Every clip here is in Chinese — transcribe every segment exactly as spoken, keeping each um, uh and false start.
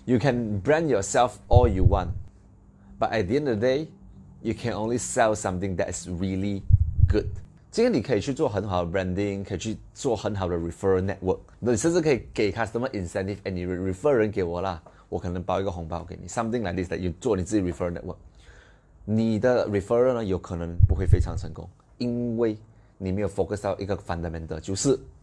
You can brand yourself all you want, but at the end of the day, you can only sell something that is really good. 今天你可以去做很好的 branding， 可以去做很好的 referral network， 你甚至可以给 customer incentive， 哎，你 refer 人给我啦，我可能包一个红包给你 ，something like this， that you 做你自己 referral network。你的 referral 呢，有可能不会非常成功，因为你没有 focus 到一个 fundamental， 就是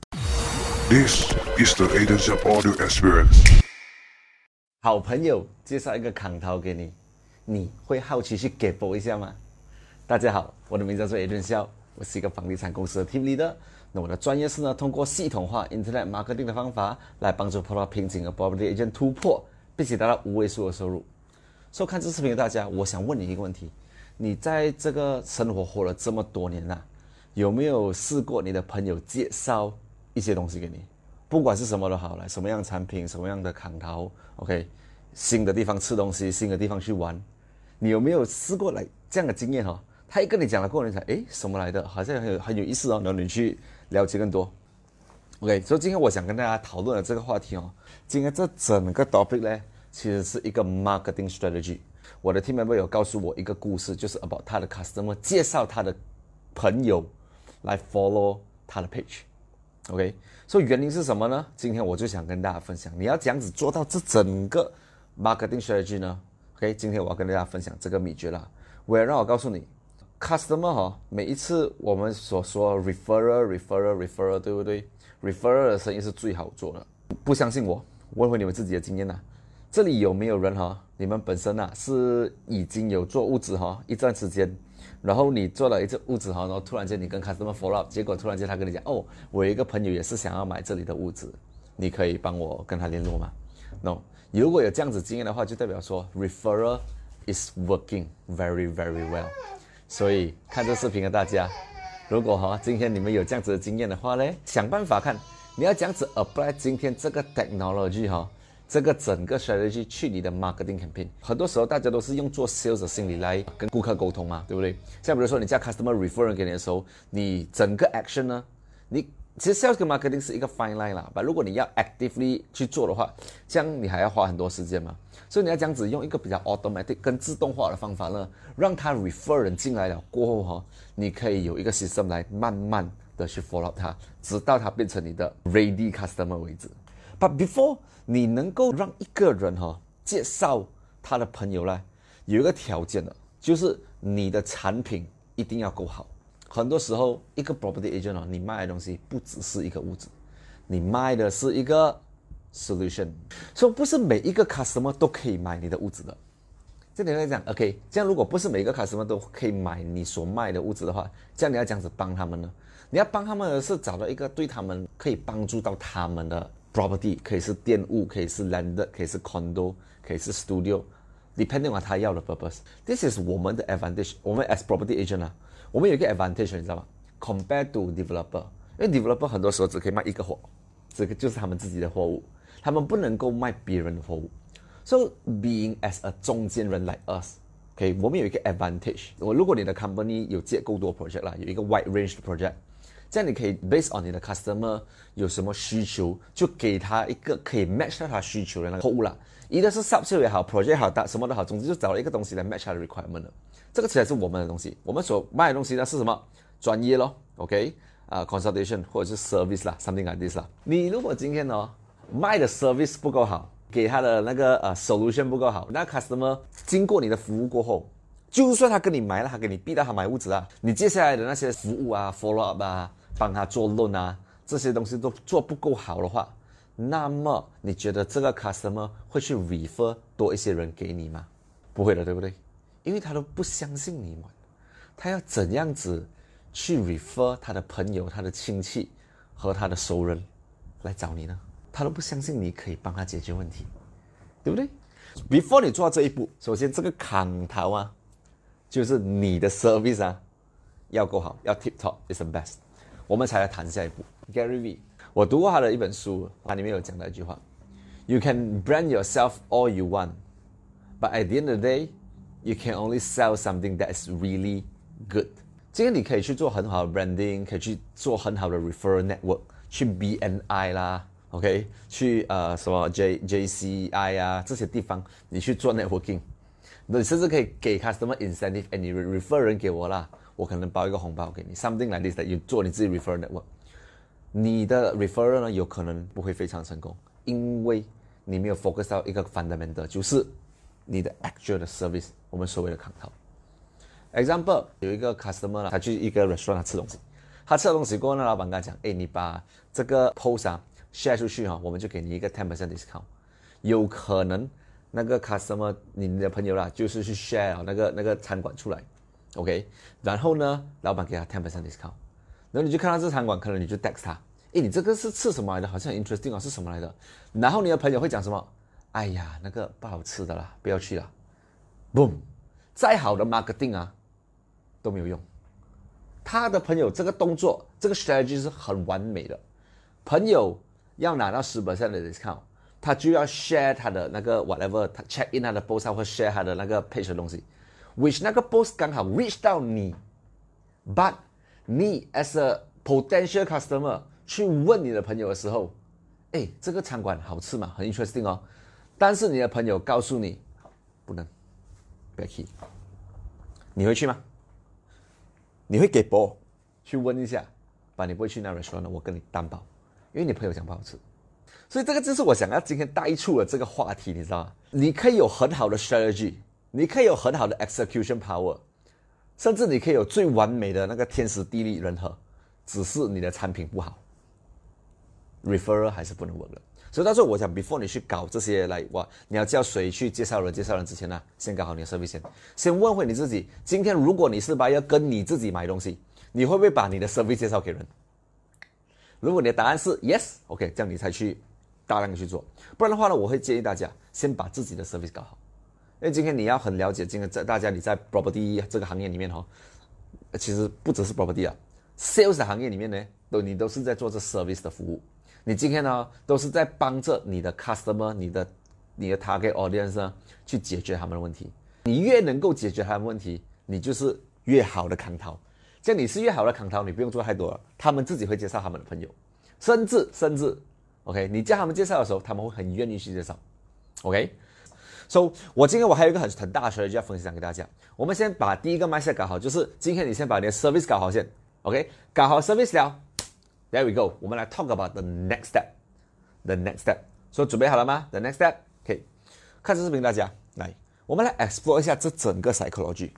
This is the Aiden Shop Audio Experience。 好朋友介绍一个扛头给你，你会好奇去 get 一下吗？大家好，我的名字叫做 Aiden Shop， 我是一个房地产公司的 team leader。那我的专业是呢，通过系统化 internet marketing 的方法来帮助碰到瓶颈的 property agent 突破，并且达到五位数的收入。收看这视频的大家，我想问你一个问题：你在这个生活活了这么多年啊，有没有试过你的朋友介绍一些东西给你？不管是什么都好，来什么样的产品，什么样的扛头 ，OK， 新的地方吃东西，新的地方去玩，你有没有试过来这样的经验哦？他一跟你讲了过后，你想，诶，什么来的？好像很有很有意思哦，然后你去了解更多。OK， 所以今天我想跟大家讨论的这个话题哦，今天这整个 topic 呢，其实是一个 marketing strategy。我的 team member 有告诉我一个故事，就是 about 他的 customer 介绍他的朋友来 follow 他的 page。OK， 所以原因是什么呢？今天我就想跟大家分享，你要怎样子做到这整个 marketing strategy 呢 ？OK， 今天我要跟大家分享这个秘诀啦。我也让我告诉你 ，customer 哈，每一次我们所说 referral、referral、referral， 对不对 ？referral 的生意是最好做的。不相信我，问问你们自己的经验呐。这里有没有人哈？你们本身啊是已经有做物质哈一段时间？然后你做了一只屋子哈，然后突然间你跟 customer follow up， 结果突然间他跟你讲，哦，我有一个朋友也是想要买这里的屋子，你可以帮我跟他联络吗 ？No， 如果有这样子经验的话，就代表说 referral is working very very well。所以看这视频的大家，如果哈今天你们有这样子的经验的话呢，想办法看你要这样子 apply 今天这个 technology 哈。这个整个 strategy 去你的 marketing campaign， 很多时候大家都是用做 sales 的心理来跟顾客沟通嘛，对不对？像比如说你叫 customer refer 给你的时候，你整个 action 呢，你其实 sales 跟 marketing 是一个 fine line 啦，但如果你要 actively 去做的话，这样你还要花很多时间嘛，所以你要这样子用一个比较 automatic 跟自动化的方法呢，让他 refer 人进来了过后哈，你可以有一个 system 来慢慢的去 follow up 他，直到他变成你的 ready customer 为止。But before 你能够让一个人哈、哦、介绍他的朋友来，有一个条件的，就是你的产品一定要够好。很多时候，一个 property agent 哦，你卖的东西不只是一个屋子，你卖的是一个 solution， 所以不是每一个 customer 都可以买你的屋子的。这里会讲 ，OK， 这样如果不是每一个 customer 都可以买你所卖的屋子的话，这样你要这样子帮他们呢？你要帮他们的是找到一个对他们可以帮助到他们的。property 可以是店屋，可以是 landed， 可以是 condo， 可以是 studio，depending on 他要的 purpose。This is 我们的 advantage。我们 as property agent 啊，我们有一个 advantage， 你知道吗 ？Compared to developer， 因为 developer 很多时候只可以卖一个货，这个就是他们自己的货物，他们不能够卖别人的货物。So being as a 中间人 like us，OK，、okay, 我们有一个 advantage。我如果你的 company 有接够多 project 啦，有一个 wide range 的 project。这样你可以 based on 你的 customer 有什么需求，就给他一个可以 match 到他需求的那个货物啦。一个是 sub 也好 ，project 也好，什么都好，总之就找了一个东西来 match 他的 requirement 的。这个才是我们的东西。我们所卖的东西呢是什么？专业咯 ，OK， 啊、uh, ，consultation 或者是 service 啦 ，something like this 啦。你如果今天哦卖的 service 不够好，给他的那个呃 solution 不够好，那 customer 经过你的服务过后，就算他跟你买了，他给你逼到他买屋子啊，你接下来的那些服务啊 ，follow up 啊。帮他做论啊，这些东西都做不够好的话，那么你觉得这个 customer 会去 refer 多一些人给你吗？不会的，对不对？因为他都不相信你嘛，他要怎样子去 refer 他的朋友、他的亲戚和他的熟人来找你呢？他都不相信你可以帮他解决问题，对不对 ？Before 你做到这一步，首先这个扛头啊，就是你的 service 啊要够好，要 tip top is the best。我们才来谈下一步。Gary V， 我读过他的一本书，他里面有讲到一句话 ：You can brand yourself all you want, but at the end of the day, you can only sell something that is really good. 今天你可以去做很好的 branding， 可以去做很好的 referral network， 去 B N I 啦 OK， 去呃什么 J JCI 啊这些地方，你去做 networking， 你甚至可以给 customer incentive， 哎，你 refer 人给我啦，我可能包一个红包给你 ，something like this， 你做你自己 refer network。你的 referral 呢，有可能不会非常成功，因为你没有 focus 到一个 fundamental， 就是你的 actual 的 service， 我们所谓的扛头。example， 有一个 customer 他去一个 restaurant 他吃东西，他吃了东西过后呢，老板跟他讲，哎，你把这个 post 啊 share 出去哈，我们就给你一个 ten percent discount。有可能那个 customer 你的朋友啦，就是去 share 那个那个餐馆出来 ，OK， 然后呢，老板给他 ten percent discount， 然后你就看到这餐馆，可能你就 text 他，哎，你这个是吃什么来的？好像很 interesting 啊，是什么来的？然后你的朋友会讲什么？哎呀，那个不好吃的啦，不要去啦 ，boom， 再好的 marketing 啊都没有用。他的朋友这个动作，这个 strategy 是很完美的。朋友要拿到 ten percent 的 discount， 他就要 share 他的那个 whatever， 他 check in 他的 post 或 share 他的那个 page 的东西 ，which 那个 post 刚好 reach 到你 ，but 你 as a potential customer 去问你的朋友的时候，哎，这个餐馆好吃吗？很 interesting 哦。但是你的朋友告诉你不能，不要去，你会去吗？你会给波去问一下，把你不会去那 restaurant， 我跟你担保，因为你朋友讲不好吃。所以这个就是我想要今天带出的这个话题，你知道吗？你可以有很好的 strategy， 你可以有很好的 execution power， 甚至你可以有最完美的那个天时地利人和，只是你的产品不好 ，referral 还是不能 work 的。所以到时候我想 ，before 你去搞这些来哇，你要叫谁去介绍人介绍人之前呢，先搞好你的 service 先，先问回你自己，今天如果你是 buyer 跟你自己买东西，你会不会把你的 service 介绍给人？如果你的答案是 yes，OK， 这样你才去大量的去做，不然的话呢，我会建议大家先把自己的 service 搞好，因为今天你要很了解，今天在大家你在 property 这个行业里面哈，其实不只是 property 啊 ，sales 的行业里面呢，都你都是在做这 service 的服务。你今天呢，都是在帮着你的 customer、你的你的 target audience 呢，去解决他们的问题。你越能够解决他们的问题，你就是越好的扛头。这样你是越好的扛头，你不用做太多了，他们自己会介绍他们的朋友，甚至甚至 ，OK， 你叫他们介绍的时候，他们会很愿意去介绍 ，OK。So， 我今天我还有一个很很大的 strategy 要分享给大家。我们先把第一个 mindset 搞好，就是今天你先把你的 service 搞好先 ，OK， 搞好 service 了。There we go， 我们来 talk about the next step. The next step， 所以准备好了吗 ？The next step， 可以看这视频，大家来，我们来 explore 一下这整个 psychology。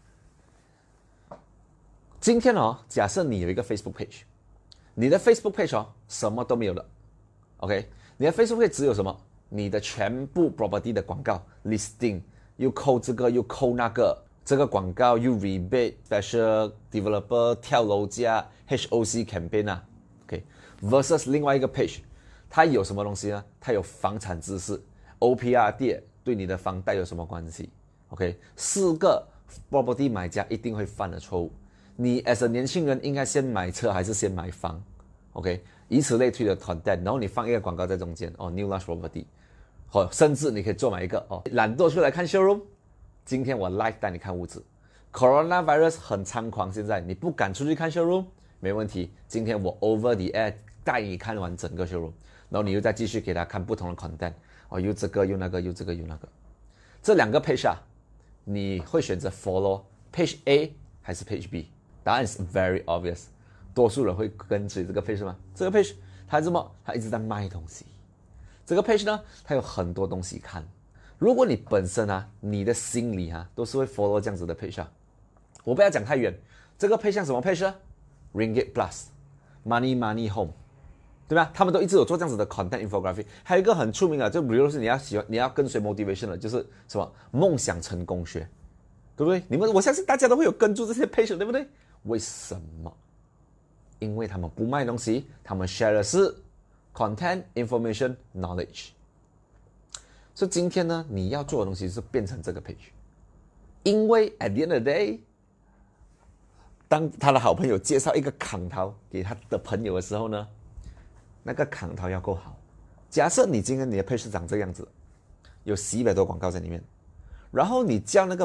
今天哦，假设你有一个 Facebook page， 你的 Facebook page 哦，什么都没有的 ，OK， 你的 Facebook page 只有什么？你的全部 property 的广告 listing， 又扣这个又扣那个，这个广告又 rebate special developer 跳楼价 H O C campaign 啊。Okay. versus 另外一个 page， 它有什么东西呢？它有房产知识 ，O P R D 对你的房贷有什么关系 ？OK， 四个 property 买家一定会犯的错误。你 as a 年轻人应该先买车还是先买房 ？OK， 以此类推的 content， 然后你放一个广告在中间哦 ，new launch property， 或、哦、甚至你可以做买一个哦，懒惰出来看 showroom， 今天我 live 带你看屋子 ，coronavirus 很猖狂，现在你不敢出去看 showroom。没问题，今天我 over the air 带你看完整个 showroom， 然后你又再继续给他看不同的 content， 哦，又这个又那个又这个又那个，这两个 page 啊，你会选择 follow page A 还是 page B？ 答案是 very obvious， 多数人会跟随这个 page 吗？这个 page 它这么，它一直在卖东西，这个 page 呢，它有很多东西看。如果你本身啊，你的心里啊，都是会 follow 这样子的 page 啊，我不要讲太远，这个 page 像什么 page 呢？Ringgit Plus、Money Money Home， 对吧？他们都一直有做这样子的 content infographic。还有一个很出名的，就比如说你要喜欢，你要跟随 motivation 的，就是什么梦想成功学，对不对？你们我相信大家都会有跟住这些 page， 对不对？为什么？因为他们不卖东西，他们 share 的是 content information knowledge。所以今天呢，你要做的东西是变成这个 page， 因为 at the end of the day。当他的好朋友介绍一个扛头给他的朋友的时候呢，那个扛头要够好。假设你今天你的 page 是长这样子，有一百多广告在里面，然后你叫那个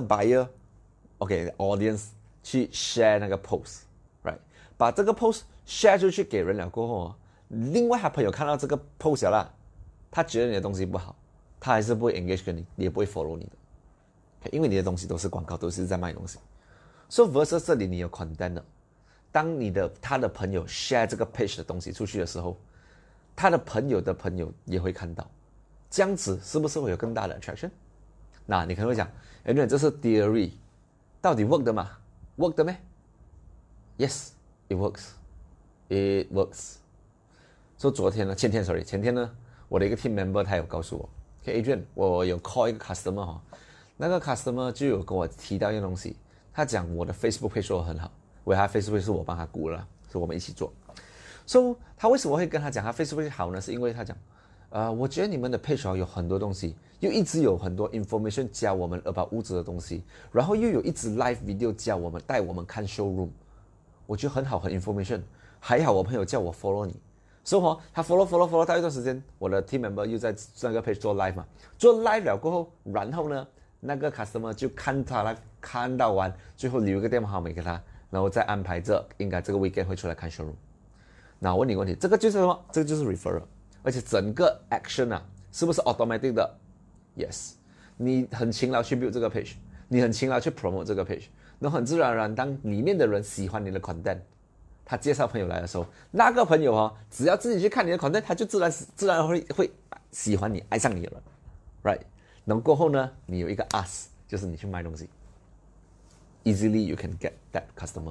buyer，OK，audience、okay, 去 share 那个 post，right， 把这个 post share 出去给人了过后， 另外他朋友看到这个 post 啦，他觉得你的东西不好，他还是不会 engage 跟你，也不会 follow 你的， okay? 因为你的东西都是广告，都是在卖东西。So versus 这里你有 content 的，当你的他的朋友 share 这个 page 的东西出去的时候，他的朋友的朋友也会看到，这样子是不是会有更大的 attraction？ 那你可能会讲，哎，这是 theory， 到底 work 的吗 ？work 的咩 ？Yes, it works, it works。所以昨天呢，前天 sorry， 前天呢，我的一个 team member 他有告诉我 ，OK Adrian， 我有 call 一个 customer 哈，那个 customer 就有跟我提到一样东西，他讲我的 Facebook page 做得很好，因为他 Facebook 是我帮他估了，是我们一起做。So 他为什么会跟他讲他 Facebook 好呢？是因为他讲，呃，我觉得你们的 page 有很多东西，又一直有很多 information 教我们 about 屋子的东西，然后又有一直 live video 教我们带我们看 showroom， 我觉得很好，很 information。还好我朋友叫我 follow 你。所以、so, 他 follow follow follow 到一段时间，我的 team member 又在那个 page 做 live 嘛，做 live 了过后，然后呢，那个 customer 就看他了，看到完，最后留一个电话号码给他，然后再安排这应该这个 weekend 会出来看 showroom。那我问你个问题，这个就是什么？这个就是 referral， 而且整个 action 啊，是不是 automatic 的 ？Yes， 你很勤劳去 build 这个 page， 你很勤劳去 promote 这个 page， 那很自然而然，当里面的人喜欢你的 content。他介绍朋友来的时候，那个朋友哦，只要自己去看你的 content， 他就自然自然会会喜欢你，爱上你了 ，right？ 然后过后呢，你有一个 ask， 就是你去卖东西 ，easily you can get that customer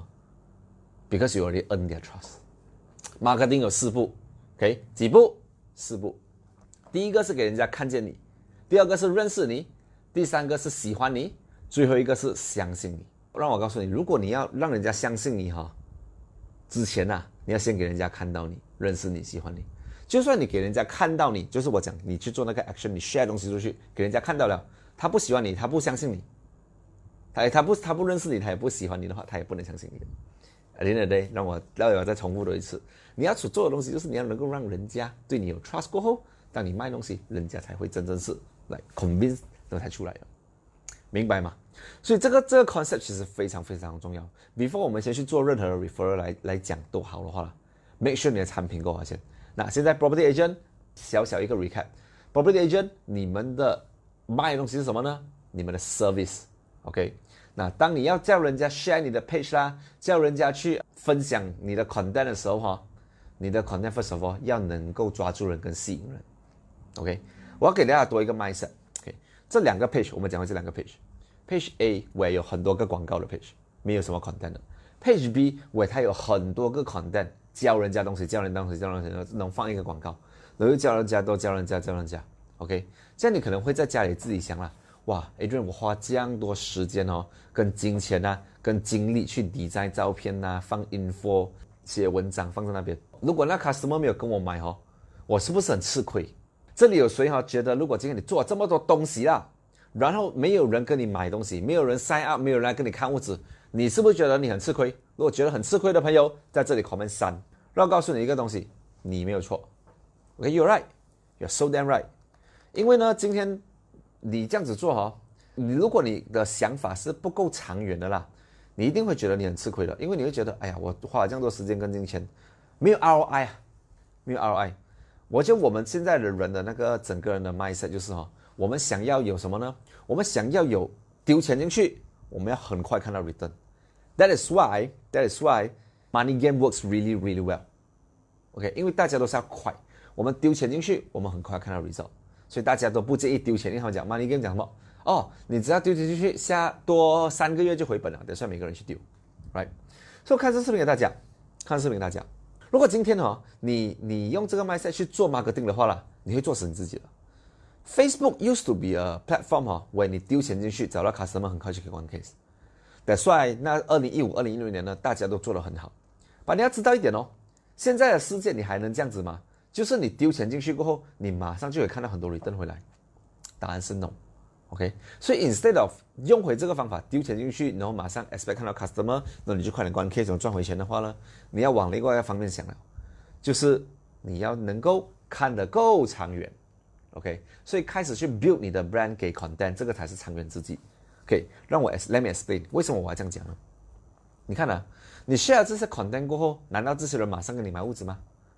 because you already earn their trust。marketing 有四步 ，OK？ 几步？四步。第一个是给人家看见你，第二个是认识你，第三个是喜欢你，最后一个是相信你。让我告诉你，如果你要让人家相信你哈。之前啊，你要先给人家看到你，认识你，喜欢你。就算你给人家看到你，就是我讲，你去做那个 action， 你 share 东西出去，给人家看到了，他不喜欢你，他不相信你，他他不他不认识你，他也不喜欢你的话，他也不能相信你的。At the end of the day， 让我让我再重复多一次，你要所做的东西就是你要能够让人家对你有 trust 过后，当你卖东西，人家才会真正是来 convince 然后才出来的，明白吗？所以这个这个 concept 其实非常非常重要。Before 我们先去做任何的 referral 来来讲都好的话 ，make sure 你的产品够好先。那现在 property agent 小小一个 recap，property agent 你们的卖的东西是什么呢？你们的 service，OK？、Okay? 那当你要叫人家 share 你的 page 啦，叫人家去分享你的 content 的时候哈，你的 content first of all 要能够抓住人跟吸引人 ，OK？ 我要给大家多一个 mindset，OK？、Okay? 这两个 page 我们讲回这两个 page。Page A 我有很多个广告的 page， 没有什么 content 的。Page B 我它有很多个 content， 教人家东西，教人家东西，教人家东西，能放一个广告，然后教人家多教人家教人家 ，OK？ 这样你可能会在家里自己想啦，哇 ，Adrian 我花这样多时间哦，跟金钱啊，跟精力去理在照片啊，放 info， 写文章放在那边。如果那 customer 没有跟我买哦，我是不是很吃亏？这里有谁哈觉得，如果今天你做了这么多东西啦？然后没有人跟你买东西，没有人 sign up， 没有人来跟你看屋子，你是不是觉得你很吃亏？如果觉得很吃亏的朋友，在这里 comment 三。让我告诉你一个东西，你没有错 ，OK， you're right， you're so damn right。因为呢，今天你这样子做哈，你如果你的想法是不够长远的啦，你一定会觉得你很吃亏的，因为你会觉得，哎呀，我花了这样多时间跟金钱，没有 R O I 啊，没有 R O I。我觉得我们现在的人的那个整个人的 mindset 就是哈。我们想要有什么呢？我们想要有丢钱进去，我们要很快看到 return。That is why, that is why money game works really, really well. OK， 因为大家都是要快，我们丢钱进去，我们很快看到 result， 所以大家都不介意丢钱。因为他们讲 money game 讲什么？哦，你只要丢钱进去，下多三个月就回本了。等下每个人去丢 ，right？ 所以看这视频给大家，看视频给大家。如果今天哦，你你用这个 mindset 去做 marketing 的话啦，你会做死你自己的。Facebook used to be a platform 哈，为你丢钱进去，找到 customer 很快就可以关 case。That's why 那二零一五、二零一六年呢，大家都做得很好。但你要知道一点哦，现在的世界你还能这样子吗？就是你丢钱进去过后，你马上就会看到很多 return 回来。答案是 no。OK， 所以 instead of 用回这个方法，丢钱进去，然后马上 expect 看到 customer， 那你就快点关 case， 然后赚回钱的话呢，你要往另外一个方面想了，就是你要能够看得够长远。OK， 所以开始去 build 你的 brand 给 content， 这个才是长远之计。OK， 让我 let me explain 为什么我要这样讲呢？你看啊，你 share 这些 content 过后，难道这些人马上跟你买屋子吗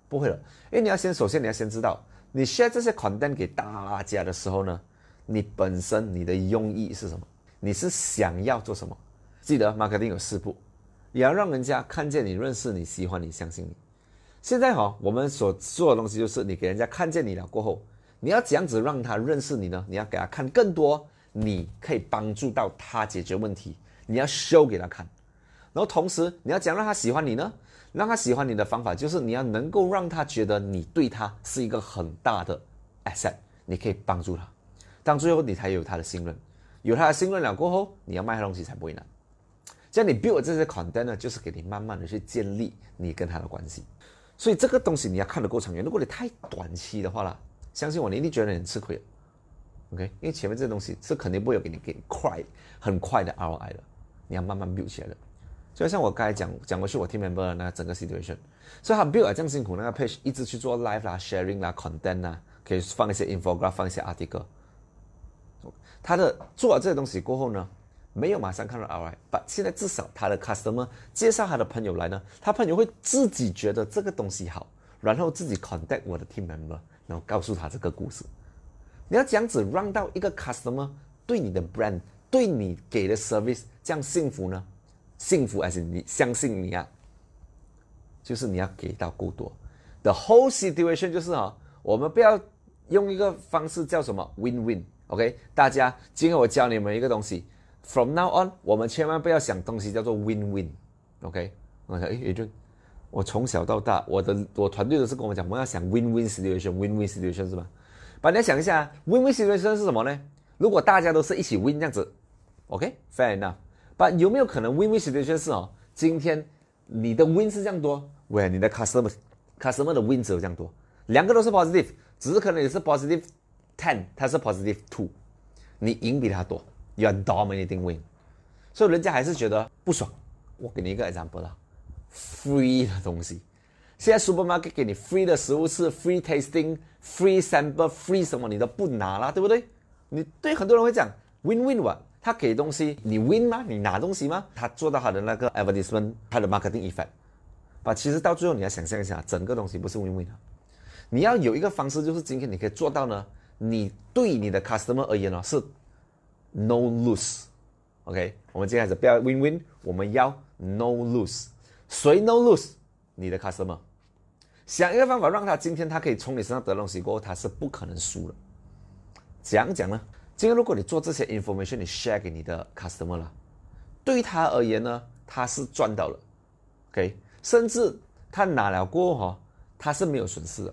不会了，因为你要先首先你要先知道，你 share 这些 content 给大家的时候呢，你本身你的用意是什么？你是想要做什么？记得 marketing 有四步，也要让人家看见你、认识你、喜欢你、相信你。现在哈、哦，我们所做的东西就是你给人家看见你了过后，你要怎样子让他认识你呢？你要给他看更多你可以帮助到他解决问题，你要 show 给他看。然后同时你要怎样让他喜欢你呢？让他喜欢你的方法就是你要能够让他觉得你对他是一个很大的 asset， 你可以帮助他，到最后你才有他的信任，有他的信任了过后，你要卖他东西才不会难。这样你 build 这些 content 呢，就是给你慢慢的去建立你跟他的关系。所以这个东西你要看得够长远，如果你太短期的话啦，相信我，你一定觉得你很吃亏的。OK， 因为前面这些东西是肯定不会有给你给你快很快的 R O I 的，你要慢慢 build 起来的。就像我刚才讲讲过去我 team member 的那个整个 situation， 所以他 build 这样辛苦，那个 page 一直去做 live 啦、sharing 啦、content 啦，可以放一些 infograph， 放一些 article。他的做了这些东西过后呢，没有马上看到 R O I， 但现在至少他的 customer 介绍他的朋友来呢，他朋友会自己觉得这个东西好，然后自己 contact 我的 team member， 然后告诉他这个故事。你要这样子让到一个 customer 对你的 brand， 对你给的 service 这样幸福呢？幸福还是你相信你啊？就是你要给到够多。The whole situation 就是啊、哦，我们不要用一个方式叫什么 win-win。OK， 大家，今天我教你们一个东西 ，from now on， 我们千万不要想东西叫做 win-win。OK， 我想，诶 ，Adrian， 我从小到大，我的我团队都是跟我讲，我们要想 win-win situation，win-win situation 是吧？把你要想一下 ，win-win situation 是什么呢？如果大家都是一起 win 这样子 ，OK，fair enough。But 有没有可能 win-win situation 是哦？今天你的 win 是这样多，喂，你的 customer customer 的 win 只有这样多，两个都是 positive， 只是可能你是 positive ten， 他是 positive two， 你赢比他多 ，you are dominating win， 所以人家还是觉得不爽。我给你一个 example 啦 ，free 的东西，现在 supermarket 给你 free 的食物是 free tasting、free sample、free 什么你都不拿啦，对不对？你对很多人会讲 win-win 吧。他给东西，你 win 吗？你拿东西吗？他做到他的那个 advertisement， 他的 marketing effect。把其实到最后你要想象一下，整个东西不是 win-win 的。你要有一个方式，就是今天你可以做到呢，你对你的 customer 而言呢是 no lose。OK， 我们接下来不要 win-win， 我们要 no lose。谁 no lose？ 你的 customer。想一个方法让他今天他可以从你身上得东西过后，他是不可能输的。怎样讲呢？今天如果你做这些 information， 你 share 给你的 customer 了，对他而言呢，他是赚到了 ，OK， 甚至他拿了过后、哦，他是没有损失的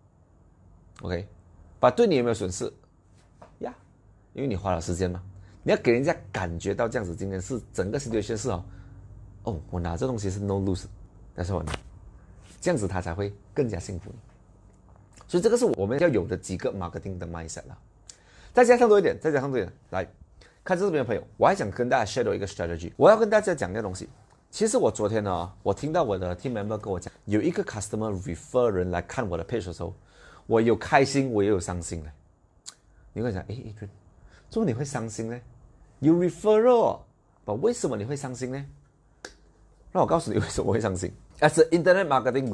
，OK， 把对你有没有损失呀？ Yeah, 因为你花了时间嘛，你要给人家感觉到这样子，今天是整个 situation 是哦，哦，我拿这东西是 no lose， 但是我拿，这样子他才会更加幸福。所以这个是我们要有的几个 marketing 的 mindset 啦。再加上多一点，再加上多一点，来看这边的朋友，我还想跟大家 share 一个 strategy。我要跟大家讲一个东西。其实我昨天呢，我听到我的 team member 跟我讲，有一个 customer refer 人来看我的 page 的时候，我有开心，我也有伤心嘞。你会讲，诶 Adrian， 怎么你会伤心呢？有 referral， 但为什么你会伤心呢？让我告诉你为什么我会伤心。As an internet marketing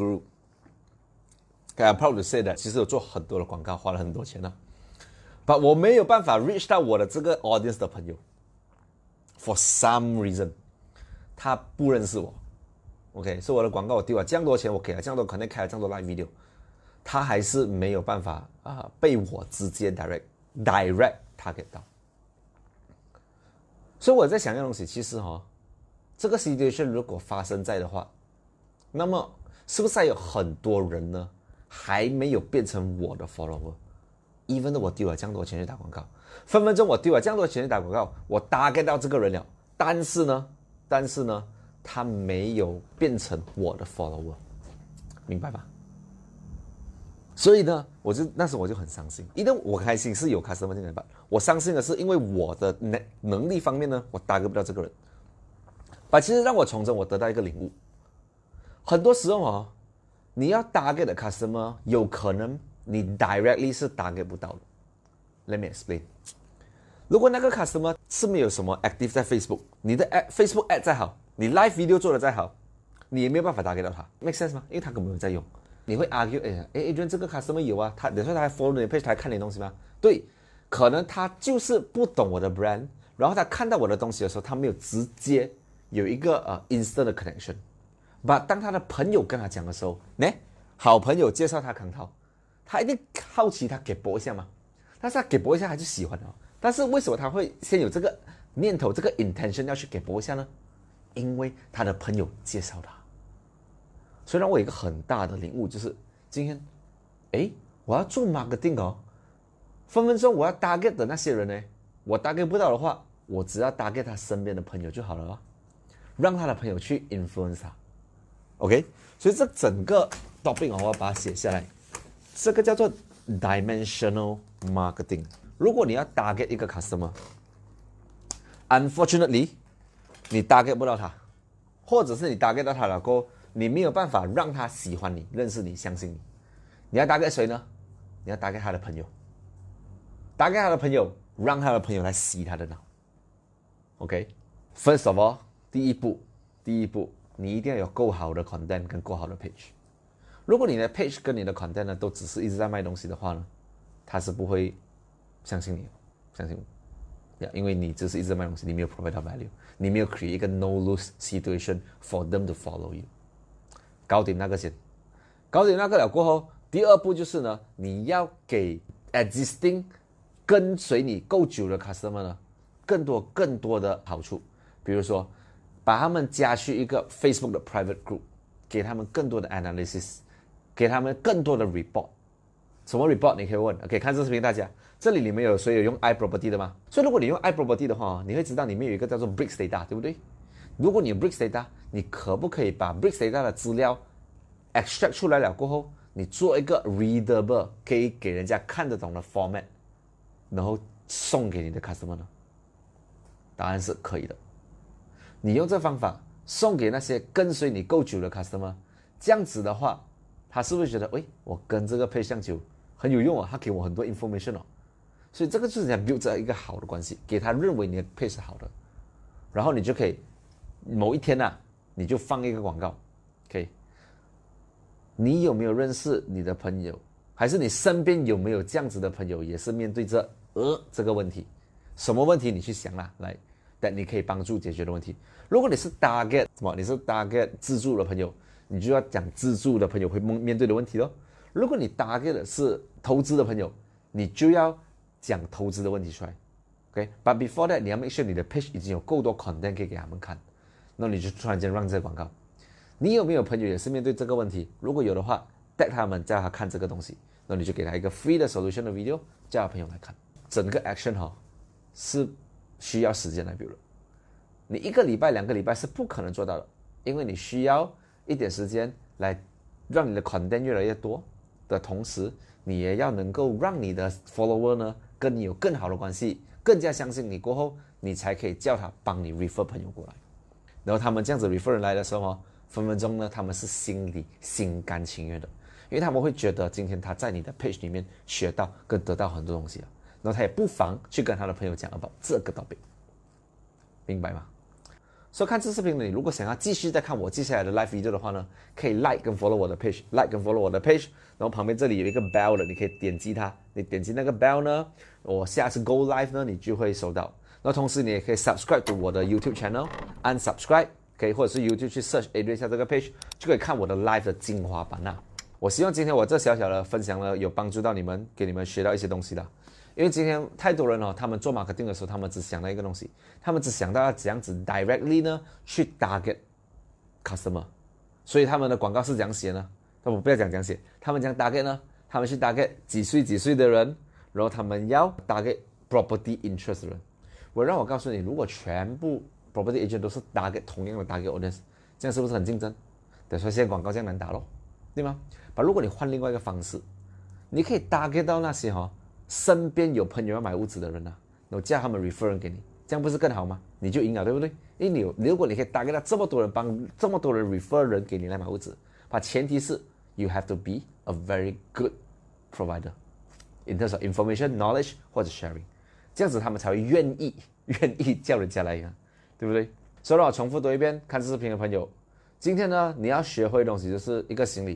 guru，I'm proud to say that， 其实我做很多的广告，花了很多钱呢。But 我没有办法 reach 到我的这个 audience 的朋友 ，for some reason， 他不认識我 ，OK， 所以我的广告我丢了这样多钱，我给了这样多，可能开了这样多 live video， 他还是没有办法啊、呃、被我直接 direct direct target 到。所以我在想一个东西，其实哦，这个 situation 如果发生在的话，那么是不是还有很多人呢，还没有变成我的 follower？Even 我丢了这样多钱去打广告，分分钟我丢了这样多钱去打广告，我 target 到这个人了，但是呢，但是呢，他没有变成我的 follower， 明白吧？所以呢，我就那时我就很伤心。因为我开心是有 customer 进来吧，我伤心的是因为我的能能力方面呢，我 target 不到这个人。把其实让我从中我得到一个领悟，很多时候哦，你要 target 的 customer 有可能。你 directly 是 target 不到的。Let me explain。如果那个 customer 是没有什么 active 在 Facebook， 你的 Facebook ad 再好，你 live video 做的再好，你也没有办法 target 到他 ，make sense 吗？因为他根本没有在用。 你会 argue， 哎哎 ，Adrian 这个 customer 有啊，他等于说他还 follow 你的 page， 他还看你的东西吗？对，可能他就是不懂我的 brand， 然后他看到我的东西的时候，他没有直接有一个呃 instant 的 connection。But 当他的朋友跟他讲的时候，呢，好朋友介绍他康涛，他一定好奇他给播一下嘛，但是他给播一下他就喜欢了。但是为什么他会先有这个念头，这个 intention 要去给播一下呢？因为他的朋友介绍他。所以让我有一个很大的领悟，就是今天，哎，我要做 marketing 哦，分分钟我要 target 的那些人呢，我 target 不到的话，我只要 target 他身边的朋友就好了哦，让他的朋友去 influence 他 ，OK？ 所以这整个 topic 我要把它写下来，这个叫做 dimensional marketing。如果你要 target 一个 customer，unfortunately， 你 target 不到他，或者是你 target 到他了过后，你没有办法让他喜欢你、认识你、相信你。你要 target 谁呢？你要 target 他的朋友 ，target 他的朋友，让他的朋友来洗他的脑。OK，First of all， 第一步，第一步，你一定要有够好的 content 跟够好的 page。如果你的 page 跟你的 content 呢，都只是一直在卖东西的话呢，他是不会相信你的，相信我。Yeah, 因为你只是一直在卖东西，你没有 provide value， 你没有 create 一个 no lose situation for them to follow you。搞定那个先，搞定那个了过后，第二步就是呢，你要给 existing 跟随你够久的 customer 呢，更多更多的好处，比如说把他们加去一个 Facebook 的 private group， 给他们更多的 analysis， 给他们更多的 report。什么 report 你可以问 ，OK， 看这视频大家，这里里面有谁有用 iProperty 的吗？所以如果你用 iProperty 的话，你会知道里面有一个叫做 Bricks Data， 对不对？如果你有 Bricks Data， 你可不可以把 Bricks Data 的资料 extract 出来了过后，你做一个 readable 可以给人家看得懂的 format， 然后送给你的 customer 呢？答案是可以的。你用这方法送给那些跟随你够久的 customer， 这样子的话，他是不是觉得，喂，我跟这个配相久很有用啊，他给我很多 information 哦，所以这个就是想 build 这一个好的关系，给他认为你的配是好的，然后你就可以某一天啊，你就放一个广告 ，OK？ 你有没有认识你的朋友，还是你身边有没有这样子的朋友，也是面对着呃这个问题？什么问题你去想啦，来，但你可以帮助解决的问题。如果你是 target 什么，你是 target 自助的朋友，你就要讲自助的朋友会面对的问题咯。如果你 target 的是投资的朋友，你就要讲投资的问题出来。OK，but before that， 你要 make sure 你的 page 已经有够多 content 可以给他们看，那你就突然间让这个广告。你有没有朋友也是面对这个问题？如果有的话 ，tag 他们叫他看这个东西，那你就给他一个 free 的 solution 的 video， 叫他朋友来看。整个 action 哈、哦、是需要时间来 build 的，你一个礼拜、两个礼拜是不可能做到的，因为你需要一点时间来让你的 content 越来越多的同时，你也要能够让你的 follower 呢跟你有更好的关系，更加相信你过后，你才可以叫他帮你 refer 朋友过来。然后他们这样子 refer 人来的时候、哦、分分钟呢他们是心里心甘情愿的，因为他们会觉得今天他在你的 page 里面学到跟得到很多东西了，然后他也不妨去跟他的朋友讲 about 这个 topic， 明白吗？所以看这视频的你，如果想要继续再看我接下来的 live video 的话呢，可以 like 跟 follow 我的 page，like 跟 follow 我的 page， 然后旁边这里有一个 bell 的，你可以点击它，你点击那个 bell 呢，我下次 go live 呢，你就会收到。那同时你也可以 subscribe to 我的 YouTube channel， 按 subscribe， 可以或者是 YouTube 去 search Adrian 下这个 page， 就可以看我的 live 的精华版啊。我希望今天我这小小的分享呢，有帮助到你们，给你们学到一些东西的。因为今天太多人哦，他们做 marketing 的时候，他们只想到一个东西，他们只想到要怎样子 directly 呢去 target customer， 所以他们的广告是怎样写呢？我不要讲怎样写，他们讲 target 呢，他们去 target 几岁几岁的人，然后他们要 target property interest 的人。我让我告诉你，如果全部 property agent 都是 target 同样的 target audience， 这样是不是很竞争？等于说现在广告这样难打咯，对吗？把如果你换另外一个方式，你可以 target 到那些哈、哦。身边有朋友要买屋子的人啊，然后叫他们 refer 人给你，这样不是更好吗？你就赢了，对不对？因为你有，如果你可以打给他这么多人帮这么多人 refer 人给你来买屋子，把前提是 you have to be a very good provider in terms of information, knowledge 或者 sharing， 这样子他们才会愿意愿意叫人家来呀，对不对？所以让我重复多一遍，看这视频的朋友，今天呢你要学会的东西就是一个心理，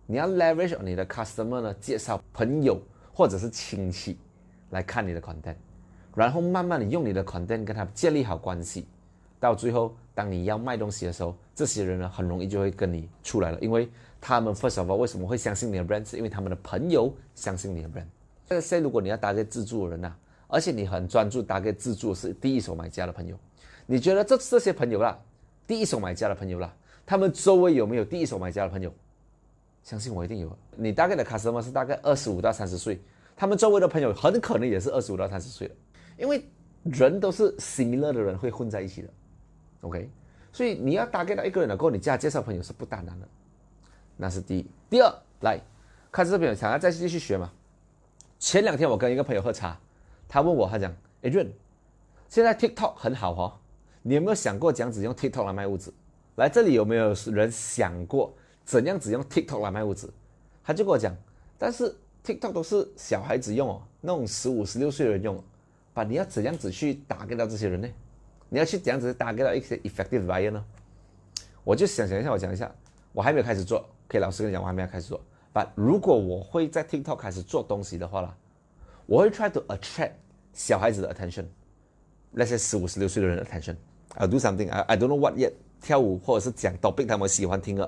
你要 leverage 你的 customer 呢，介绍朋友或者是亲戚来看你的 content， 然后慢慢的用你的 content 跟他建立好关系，到最后当你要卖东西的时候，这些人呢很容易就会跟你出来了，因为他们 first of all 为什么会相信你的 brand， 是因为他们的朋友相信你的 brand。这个 say 如果你要打给自助的人啊，而且你很专注打给自助是第一手买家的朋友，你觉得这这些朋友啦，第一手买家的朋友啦，他们周围有没有第一手买家的朋友？相信我一定有。你大概的 customer 是大概二十五到三十岁，他们周围的朋友很可能也是二十五到三十岁的，因为人都是 similar 的人会混在一起的 ，OK？ 所以你要大概到一个人了过后，你加介绍朋友是不大难的，那是第一。第二，来看这边想要再继续学嘛？前两天我跟一个朋友喝茶，他问我，他讲 Adrian， 现在 TikTok 很好哦，你有没有想过怎样子用 TikTok 来卖物质？来这里有没有人想过怎样子用 TikTok 来卖物质？他就跟我讲，但是 TikTok 都是小孩子用哦，那种十五、十六岁的人用，把你要怎样子去打给到这些人呢？你要去怎样子打给到一些 effective buyer 呢？我就想想一下，我讲一下，我还没有开始做，可以老实跟你讲，我还没有开始做。但如果我会在 TikTok 开始做东西的话啦，我会 try to attract 小孩子的 attention， 那些十五、十六岁的人的 attention。I'll do something I I don't know what yet， 跳舞或者是讲 topic 他们喜欢听的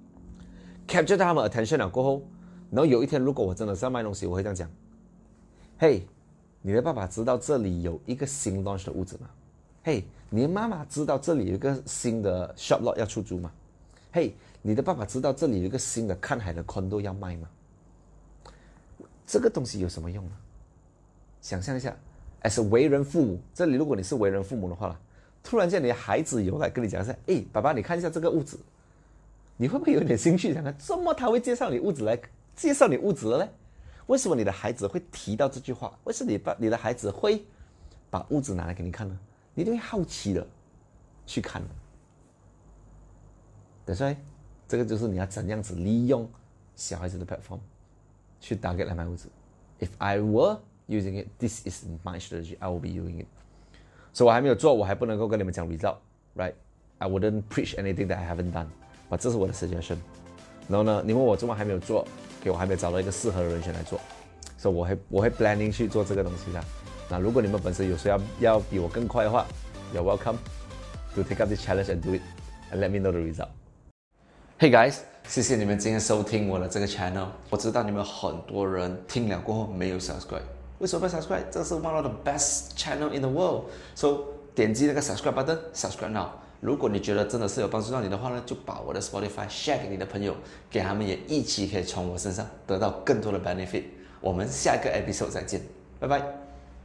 ，capture 他们 attention 了过后，然后有一天如果我真的是要卖东西，我会这样讲：嘿，你的爸爸知道这里有一个新 launch 的屋子吗？嘿，你的妈妈知道这里有一个新的 shop lot 要出租吗？嘿，你的爸爸知道这里有一个新的看海的 condo 要卖吗？这个东西有什么用呢？想象一下 ，as a 为人父母，这里如果你是为人父母的话啦，突然间你的孩子有来跟你讲说，哎，爸爸，你看一下这个屋子，你会不会有点兴趣？想看，怎么他会介绍你屋子来介绍你屋子了呢？为什么你的孩子会提到这句话？为什么你把你的孩子会把屋子拿来给你看呢？你一定会好奇的去看的。对，所以这个就是你要怎样子利用小孩子的 platform 去 target 来卖屋子。If I were using it, this is my strategy. I will be doing it. 所以我还没有做，我还不能够跟你们讲 result, right? I wouldn't preach anything that I haven't done. But 这是我的 suggestion. 然后呢，你问我怎么还没有做，给我还没有找到一个适合的人选来做，所以我会我会 planning 去做这个东西的。那如果你们本身有谁要要比我更快的话 ，You're welcome to take up this challenge and do it, and let me know the result. Hey guys， 谢谢你们今天收听我的这个 channel。我知道你们很多人听了过后没有 subscribe， 为什么不 subscribe？ 这是 one of the best channel in the world。So 点击那个 subscribe button， subscribe now。如果你觉得真的是有帮助到你的话呢，就把我的 Spotify share 给你的朋友，给他们也一起可以从我身上得到更多的 benefit。我们下一个 episode 再见，拜拜。